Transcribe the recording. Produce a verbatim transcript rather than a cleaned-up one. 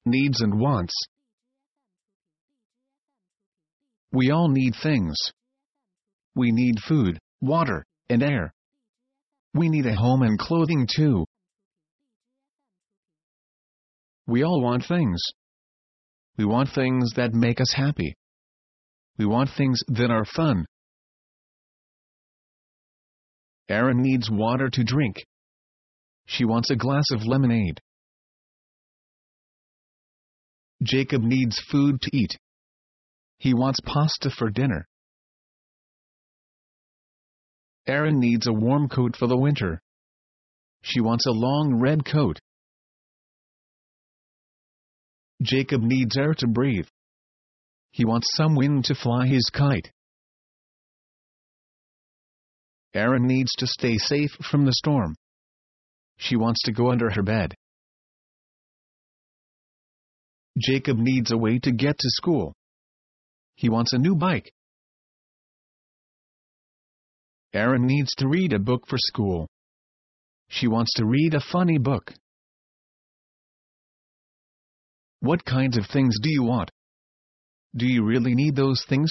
Needs and wants. We all need things. We need food, water, and air. We need a home and clothing too. We all want things. We want things that make us happy. We want things that are fun. Erin needs water to drink. She wants a glass of lemonade. Jacob needs food to eat. He wants pasta for dinner. Erin needs a warm coat for the winter. She wants a long red coat. Jacob needs air to breathe. He wants some wind to fly his kite. Erin needs to stay safe from the storm. She wants to go under her bed. Jacob needs a way to get to school. He wants a new bike. Erin needs to read a book for school. She wants to read a funny book. What kinds of things do you want? Do you really need those things?